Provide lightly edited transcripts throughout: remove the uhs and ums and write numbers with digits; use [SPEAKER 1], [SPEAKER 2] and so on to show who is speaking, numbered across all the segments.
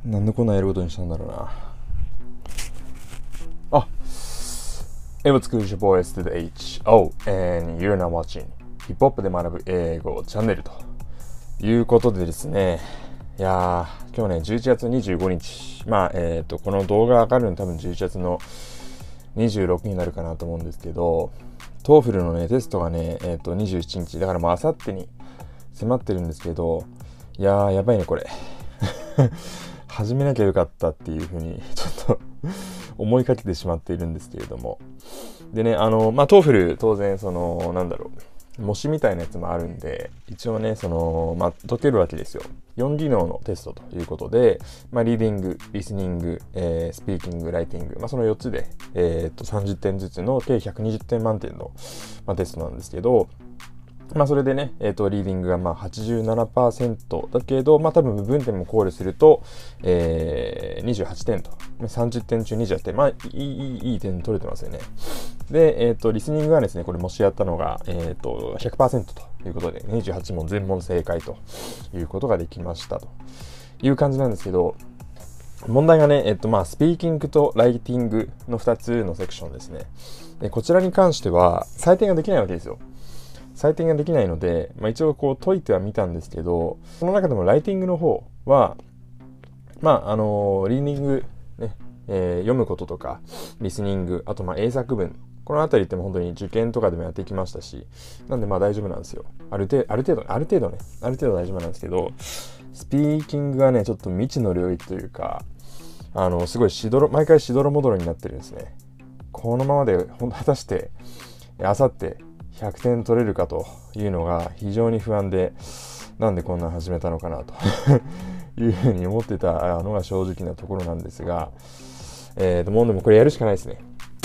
[SPEAKER 1] なんでこんなやることにしたんだろうな。あ、It was good, your boys to the HO and you're now watching ヒップホップで学ぶ英語チャンネルということでですね。いやー、今日ね、11月25日。この動画上がるの多分11月の26になるかなと思うんですけど、TOEFL のね、テストがね、27日。だからもうあさってに迫ってるんですけど、いやー、やばいね、これ。始めなきゃよかったっていうふうに、ちょっと思いかけてしまっているんですけれども。でね、TOEFL 当然、模試みたいなやつもあるんで、一応ね、解けるわけですよ。4技能のテストということで、リーディング、リスニング、スピーキング、ライティング、その4つで、30点ずつの計120点満点の、テストなんですけど、それでね、リーディングが87% だけど、多分部分点も考慮すると、28点と。30点中28点。いい点取れてますよね。で、リスニングはですね、これもしやったのが、100% ということで、28問全問正解ということができましたという感じなんですけど、問題がね、スピーキングとライティングの2つのセクションですね。でこちらに関しては、採点ができないわけですよ。採点ができないので、一応こう解いてはみたんですけど、その中でもライティングの方は、リーディング、ね読むこととか、リスニング、あと英作文、このあたりっても本当に受験とかでもやってきましたし、なんで大丈夫なんですよ。ある程度大丈夫なんですけど、スピーキングがね、ちょっと未知の領域というか、すごい毎回しどろもどろになってるんですね。このままで果たして、あさって100点取れるかというのが非常に不安で、なんでこんな始めたのかなというふうに思ってたのが正直なところなんですが、もうでもこれやるしかないですね。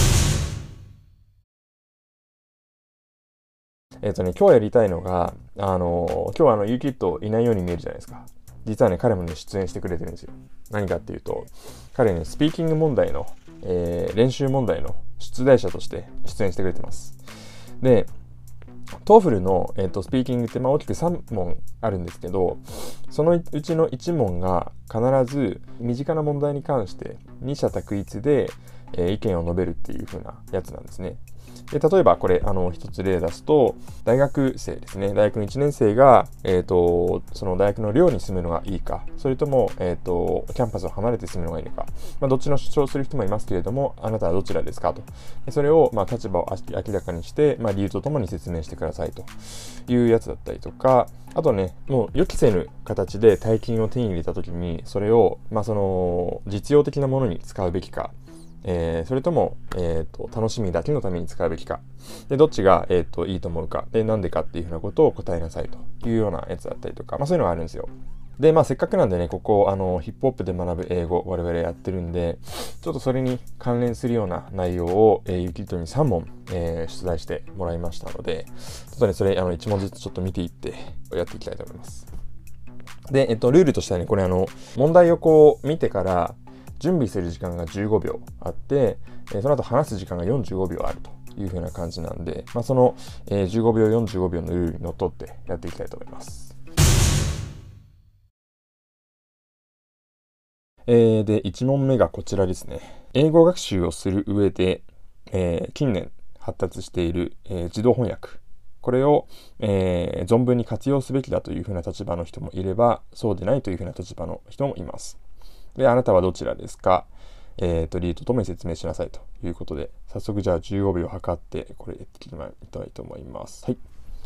[SPEAKER 1] 今日やりたいのが、今日はユーキッドいないように見えるじゃないですか。実はね、彼もね、出演してくれてるんですよ。何かっていうと、彼ね、スピーキング問題の、練習問題の出題者として出演してくれてます。で、TOEFL の、スピーキングって大きく3問あるんですけど、そのうちの1問が必ず身近な問題に関して二者択一で、意見を述べるっていう風なやつなんですね。で例えばこれ一つ例出すと、大学生ですね。大学の1年生が、その大学の寮に住むのがいいか、それとも、キャンパスを離れて住むのがいいのか、どっちの主張する人もいますけれども、あなたはどちらですかと。それを、立場を明らかにして、理由とともに説明してくださいというやつだったりとか、あとね、もう予期せぬ形で大金を手に入れたときに、それを、その実用的なものに使うべきか、それとも、楽しみだけのために使うべきか。で、どっちが、いいと思うか。で、なんでかっていうふうなことを答えなさいというようなやつだったりとか、そういうのがあるんですよ。で、せっかくなんでね、ここ、ヒップホップで学ぶ英語、我々やってるんで、ちょっとそれに関連するような内容を、ユキッドに3問、出題してもらいましたので、ちょっとね、それ、1問ずつちょっと見ていってやっていきたいと思います。で、ルールとしてはね、これ問題をこう見てから、準備する時間が15秒あって、その後話す時間が45秒あるという風な感じなんで、その、15秒、45秒のルールにのっとってやっていきたいと思います。で、1問目がこちらですね。英語学習をする上で、近年発達している、自動翻訳。これを、存分に活用すべきだという風な立場の人もいれば、そうでないという風な立場の人もいます。で、あなたはどちらですか？リードともに説明しなさいということで、早速じゃあ15秒測って、これやっていきたいと思います。はい。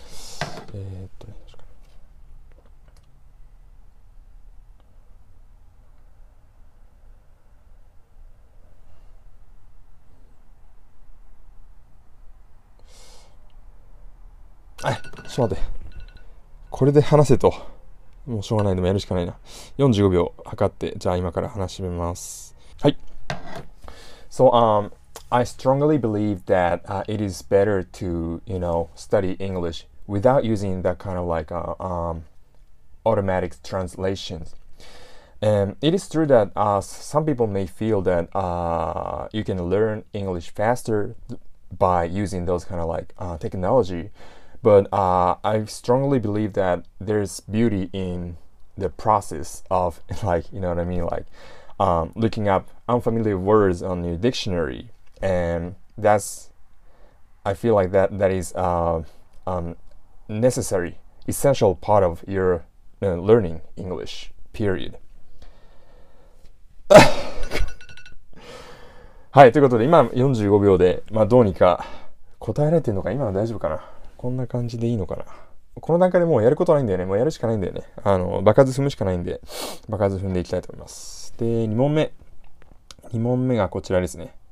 [SPEAKER 1] ちょっと待って。これで話せと。もうしょうがない。でもやるしかないな。45秒測って、じゃあ今から話します。はい。So, I strongly believe that it is better to, study English without using that kind of automatic translations. And it is true that some people may feel that you can learn English faster by using those kind of technology. But I strongly believe that there's beauty in the process of like, you know what I mean, like looking up unfamiliar words on your dictionary, and I feel like that is necessary, essential part of your learning English, period. はい、ということで今45秒で、まあどうにか答えられてるのか、今の大丈夫かな、こんな感じでいいのかな。この段階でもうやることないんだよね。もうやるしかないんだよね。場数踏むしかないんで、場数踏んでいきたいと思います。で、2問目。2問目がこちらですね。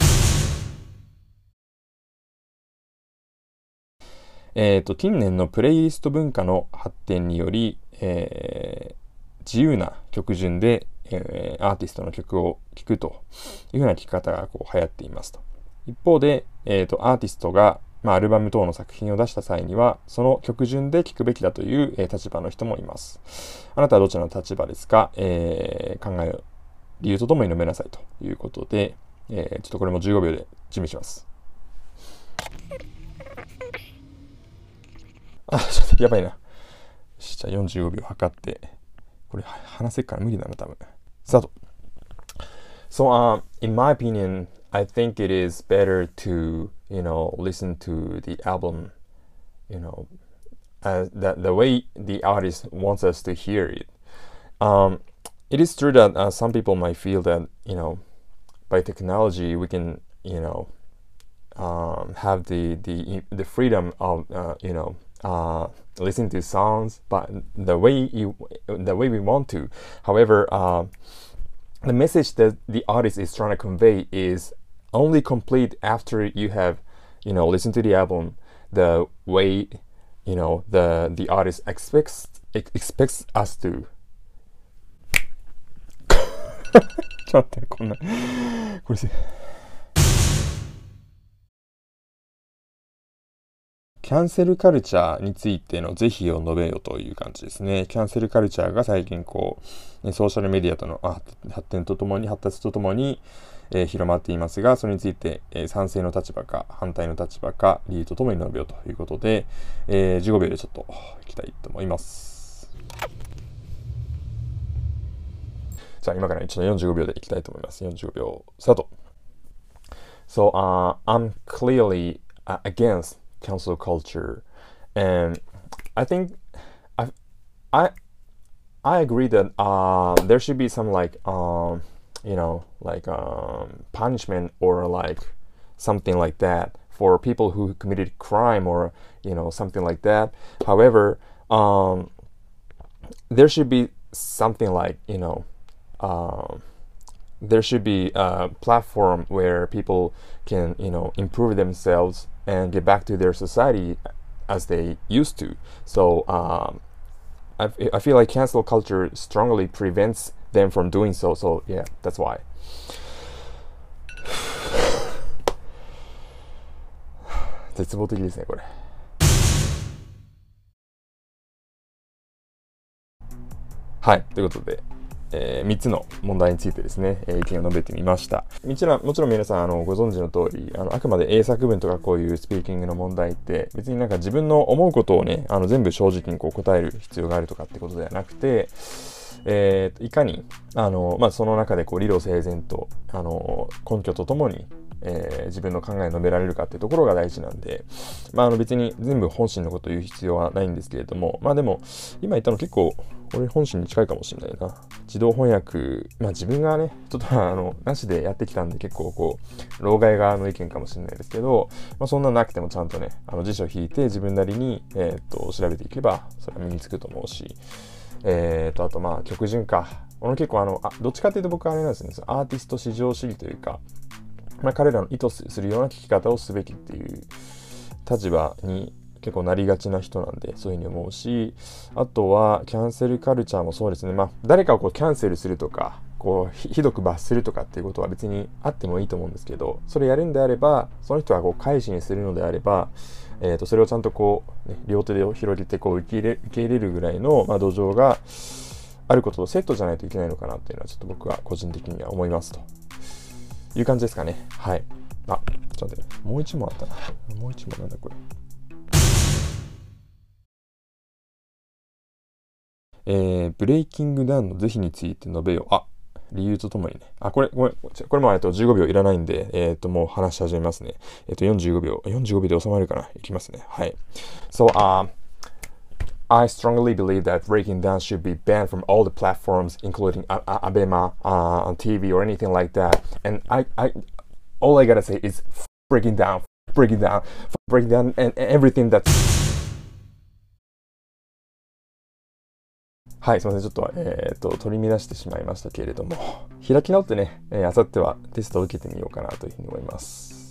[SPEAKER 1] 近年のプレイリスト文化の発展により、自由な曲順で、アーティストの曲を聴くというふうな聴き方がこう流行っていますと。一方で、アーティストがアルバム等の作品を出した際には、その曲順で聴くべきだという、立場の人もいます。あなたはどちらの立場ですか？考える理由とともに述べなさいということで、ちょっとこれも15秒で準備します。ちょっとやばいな。じゃあ45秒測って、これ話せっから無理だな、多分。スタート。So, in my opinion, I think it is better to, listen to the album, the way the artist wants us to hear it. It is true that some people might feel that, by technology we can, have the freedom of, listen to songs, but the way we want to. However, the message that the artist is trying to convey is only complete after you have, listened to the album the way, the artist expects us to. ちょっと待って、これキャンセルカルチャーについての是非を述べよという感じですね。キャンセルカルチャーが最近ソーシャルメディアとの発達とともに、広まっていますが、それについて、賛成の立場か反対の立場か理由とともに述べよということで、15秒でちょっといきたいと思います。じゃあ今から一度45秒でいきたいと思います。45秒スタート。So, I'm clearly against cancel culture, and I think I agree that there should be some punishment or like something like that for people who committed crime or something like that. However, there should be something like there should be a platform where people can improve themselves and get back to their society as they used to. So I feel like cancel culture strongly prevents them from doing so. So yeah, that's why. 絶望的ですね、これ。はい、ということで、3つの問題についてですね、意見を述べてみました。もちろん皆さんご存知の通り、あくまで英作文とかこういうスピーキングの問題って別になんか自分の思うことをね、全部正直に答える必要があるとかってことではなくて、いかにその中で理路整然と根拠とともに自分の考えを述べられるかっていうところが大事なんで、別に全部本心のことを言う必要はないんですけれども、でも今言ったの結構これ本心に近いかもしれないな。自動翻訳、自分がねちょっとなしでやってきたんで結構老害側の意見かもしれないですけど、そんななくてもちゃんとね辞書を引いて自分なりに調べていけばそれは身につくと思うし、あと曲順か。結構どっちかっていうと僕はあれなんですね、アーティスト至上主義というか、彼らの意図するような聞き方をすべきっていう立場に結構なりがちな人なんで、そういうふうに思うし、あとはキャンセルカルチャーもそうですね。誰かをキャンセルするとかひどく罰するとかっていうことは別にあってもいいと思うんですけど、それやるんであればその人は改心するのであれば、それをちゃんと両手で広げて受け入れるぐらいの、土壌があることとセットじゃないといけないのかなっていうのはちょっと僕は個人的には思いますという感じですかね。はい。ちょっと待って、もう一問あったな。もう一問なんだこれ。 ブレイキングダウンの是非について述べよう。理由とともにね。これも15秒いらないんで、もう話し始めますね。45秒で収まるかな。いきますね。はい。So, I strongly believe that breaking down should be banned from all the platforms, including Abema, on TV or anything like that. And all I gotta say is breaking down, and everything that's はい、すみません。ちょっと、取り乱してしまいましたけれども、開き直ってね、あさってはテストを受けてみようかなというふうに思います。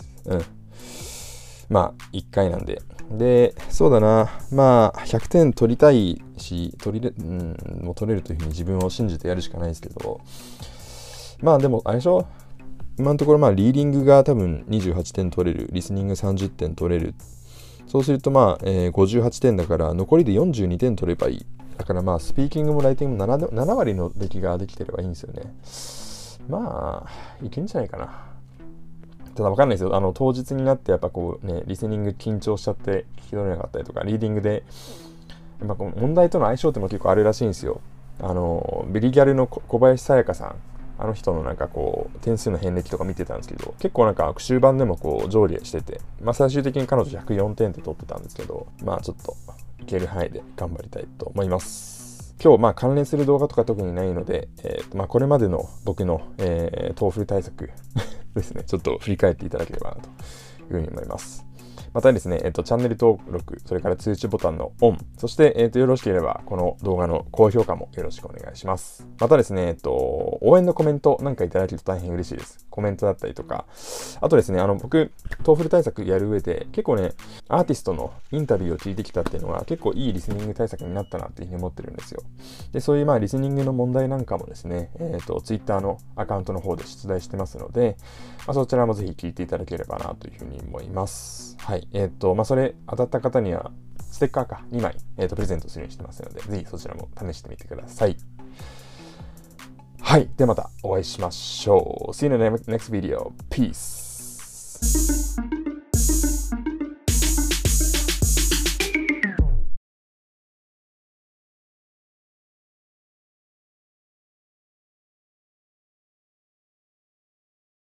[SPEAKER 1] まあ、1回なんで。で、そうだな。まあ、100点取りたいし、もう取れるというふうに自分を信じてやるしかないですけど、まあでも、あれでしょ？今のところ、リーディングが多分28点取れる、リスニング30点取れる。そうすると、58点だから、残りで42点取ればいい。だからスピーキングもライティングも 7割の出来ができてればいいんですよね。いけんじゃないかな。ただわかんないですよ。当日になってやっぱリスニング緊張しちゃって聞き取れなかったりとか、リーディングで、やっぱ問題との相性っても結構あるらしいんですよ。ビリギャルの小林さやかさん。あの人の点数の遍歴とか見てたんですけど、結構終盤でも上下してて、最終的に彼女104点って取ってたんですけど、ちょっといける範囲で頑張りたいと思います。今日関連する動画とか特にないので、これまでの僕の、TOEFL 対策ですね、ちょっと振り返っていただければなというふうに思います。またですね、チャンネル登録、それから通知ボタンのオン、そして、よろしければ、この動画の高評価もよろしくお願いします。またですね、応援のコメントなんかいただけると大変嬉しいです。コメントだったりとか、あとですね、僕、TOEFL 対策やる上で、結構ね、アーティストのインタビューを聞いてきたっていうのは、結構いいリスニング対策になったなっていうふうに思ってるんですよ。で、そういうリスニングの問題なんかもですね、Twitter のアカウントの方で出題してますので、そちらもぜひ聞いていただければなというふうに思います。はい。それ当たった方には、ステッカー2枚、プレゼントするようにしてますので、ぜひそちらも試してみてください。はい。ではまたお会いしましょう。See you in the next video. Peace.